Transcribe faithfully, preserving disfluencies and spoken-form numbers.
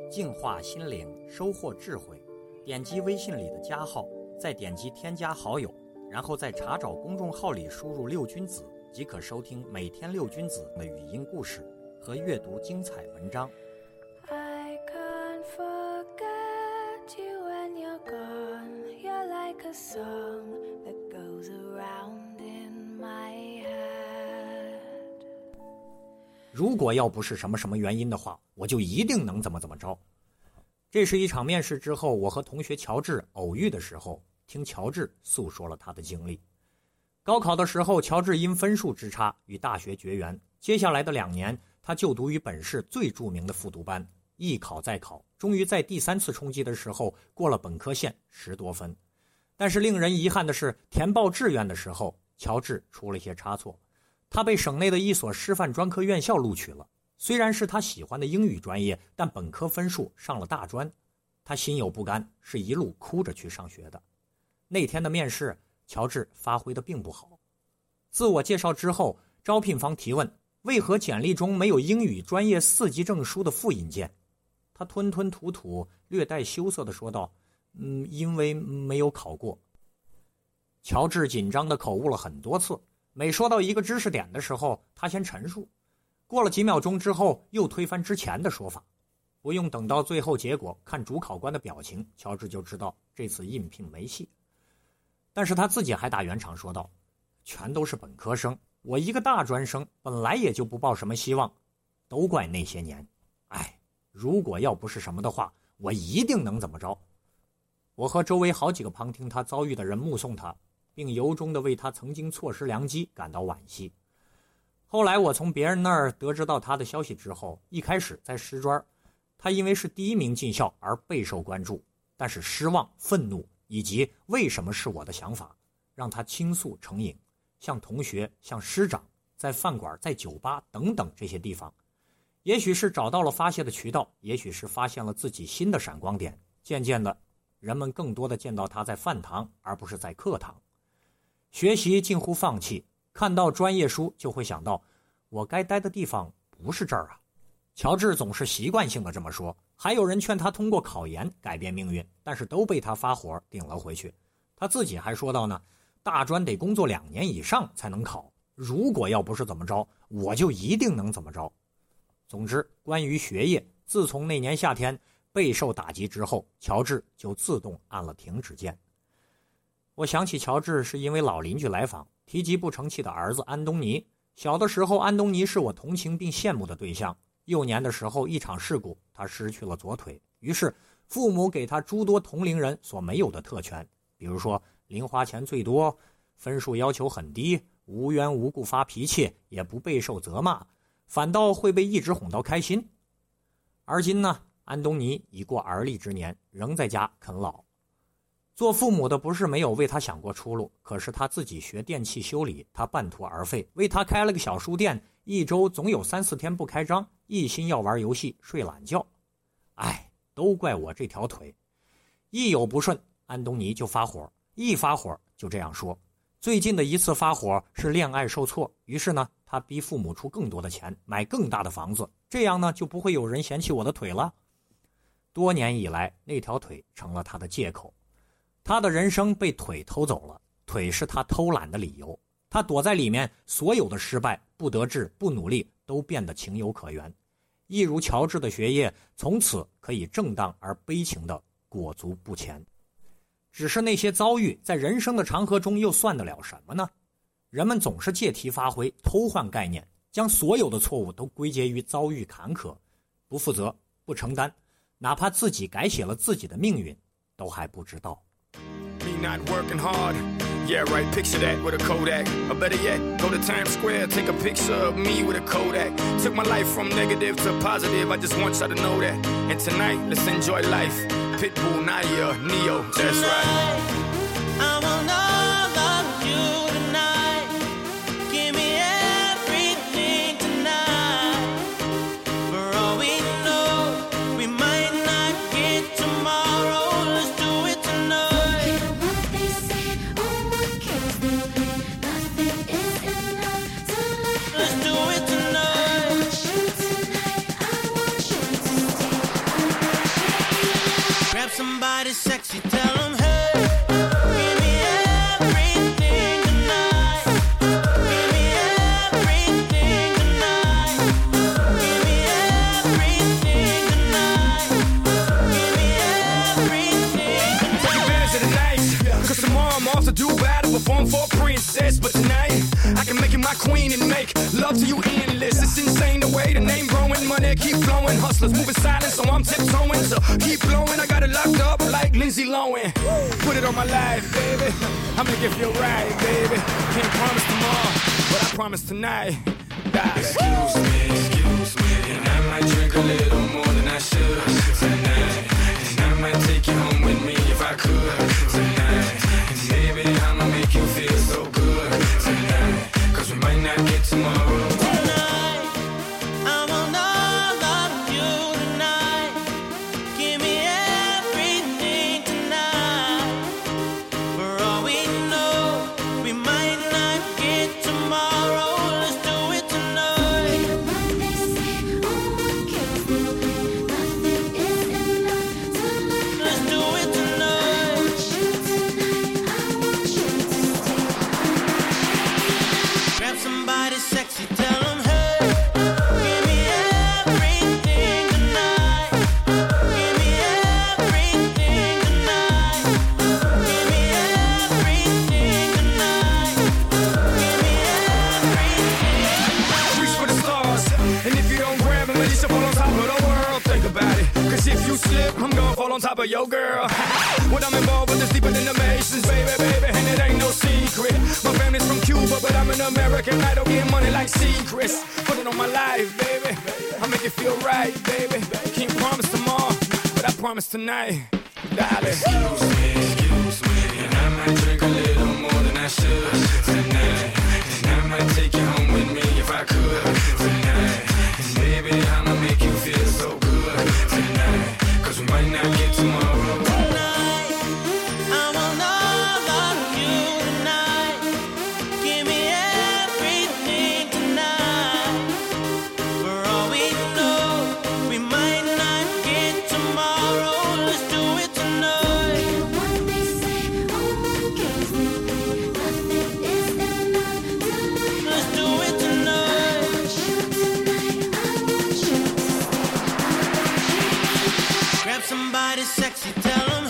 净化心灵，收获智慧。点击微信里的加号，再点击添加好友，然后在查找公众号里输入六君子，即可收听每天六君子的语音故事和阅读精彩文章。 I can't forget you when you're gone. You're like a song that goes around in my head. 如果要不是什么什么原因的话，我就一定能怎么怎么着。这是一场面试之后，我和同学乔治偶遇的时候，听乔治诉说了他的经历。高考的时候，乔治因分数之差与大学绝缘，接下来的两年，他就读于本市最著名的复读班，一考再考，终于在第三次冲击的时候过了本科线十多分。但是令人遗憾的是，填报志愿的时候，乔治出了一些差错，他被省内的一所师范专科院校录取了。虽然是他喜欢的英语专业，但本科分数上了大专，他心有不甘，是一路哭着去上学的。那天的面试，乔治发挥的并不好。自我介绍之后，招聘方提问为何简历中没有英语专业四级证书的复印件。他吞吞吐吐，略带羞涩地说道：嗯，因为没有考过。乔治紧张地口误了很多次，每说到一个知识点的时候，他先陈述，过了几秒钟之后又推翻之前的说法。不用等到最后结果，看主考官的表情，乔治就知道这次应聘没戏。但是他自己还打圆场说道：全都是本科生，我一个大专生本来也就不抱什么希望，都怪那些年。哎，如果要不是什么的话，我一定能怎么着。我和周围好几个旁听他遭遇的人目送他，并由衷地为他曾经错失良机感到惋惜。后来我从别人那儿得知到他的消息之后，一开始在师专，他因为是第一名进校而备受关注，但是失望、愤怒以及为什么是我的想法，让他倾诉成瘾，向同学、向师长，在饭馆、在酒吧等等这些地方，也许是找到了发泄的渠道，也许是发现了自己新的闪光点。渐渐的，人们更多的见到他在饭堂，而不是在课堂。学习近乎放弃，看到专业书就会想到，我该待的地方不是这儿啊。乔治总是习惯性的这么说，还有人劝他通过考研改变命运，但是都被他发火顶了回去。他自己还说到呢，大专得工作两年以上才能考，如果要不是怎么着，我就一定能怎么着。总之，关于学业，自从那年夏天备受打击之后，乔治就自动按了停止键。我想起乔治是因为老邻居来访，提及不成器的儿子安东尼。小的时候，安东尼是我同情并羡慕的对象。幼年的时候，一场事故，他失去了左腿，于是父母给他诸多同龄人所没有的特权，比如说零花钱最多，分数要求很低，无缘无故发脾气，也不备受责骂，反倒会被一直哄到开心。而今呢，安东尼已过而立之年，仍在家啃老。做父母的不是没有为他想过出路，可是他自己学电器修理，他半途而废，为他开了个小书店，一周总有三四天不开张，一心要玩游戏睡懒觉。哎，都怪我这条腿。一有不顺，安东尼就发火，一发火就这样说。最近的一次发火是恋爱受挫，于是呢，他逼父母出更多的钱，买更大的房子，这样呢，就不会有人嫌弃我的腿了。多年以来，那条腿成了他的借口。他的人生被腿偷走了，腿是他偷懒的理由。他躲在里面，所有的失败、不得志、不努力都变得情有可原。一如乔治的学业，从此可以正当而悲情地裹足不前。只是那些遭遇，在人生的长河中又算得了什么呢？人们总是借题发挥，偷换概念，将所有的错误都归结于遭遇坎坷，不负责、不承担，哪怕自己改写了自己的命运，都还不知道。 Me not working hard. Yeah, right, picture that with a Kodak. Or better yet, go to Times Square, take a picture of me with a Kodak. Took my life from negative to positive, I just want y'all to know that. And tonight, let's enjoy life. Pitbull, Nadia, Neo, that's right. I will not love you tonight. Give me everything tonight. For all we know, we might not get tomorrow. Let's do it tonight. Let's do it tonight. somebody sexy, tell them, hey, give me everything tonight. Give me everything tonight. Give me everything tonight. Give me everything tonight. Take advantage of the night, cause tomorrow I'm off to do battle, perform for a princess. But tonight, I can make you my queen and make love to you endless. It's insane the way the name growing, money keep flowing. Hustlers moving silent, so I'm tiptoeing. So keep blowing, I got it locked up like Lindsay Lohan. Put it on my life, baby. I make it feel right, baby. Can't promise tomorrow, but I promise tonight. Die. Excuse me, excuse me, and I might drink a little more than I should tonight. And I might take you home with me if I could tonight. And baby, I'ma make you feel so good tonight. Cause we might not get tomorrow. Tonight, I want all of you tonight. Give me everything tonight. For all we know, we might not get tomorrow. Let's do it tonight. Let's do it tonight. Grab somebody sexy, tell them, hey, give me everything tonight. Give me everything tonight. Give me everything tonight. Give me everything. Reach for the stars, and if you don't grab them, at least you fall on top of the world. Think about it, cause if you slip, I'm gonna fall on top of your girl. What I'm involved with is deeper than the Masons, baby, baby, and it ain't no secret. My family's from Cuba, but I'm an American idol, getting money like secrets. Put it on my life, baby, I make it feel right, baby. Can't promise tomorrow, but I promise tonight, darling. Excuse me, excuse me, and I might drink a little more than I should tonight. And I might take you home with me if I could tonight. And baby, I'ma make you feel so good tonight. Cause we might not get tomorrow. Tonight, I want all of you tonight. Give me everything tonight. For all we know, we might not get tomorrow. Let's do it tonight. Let's do it tonight. Grab somebody sexy, tell them,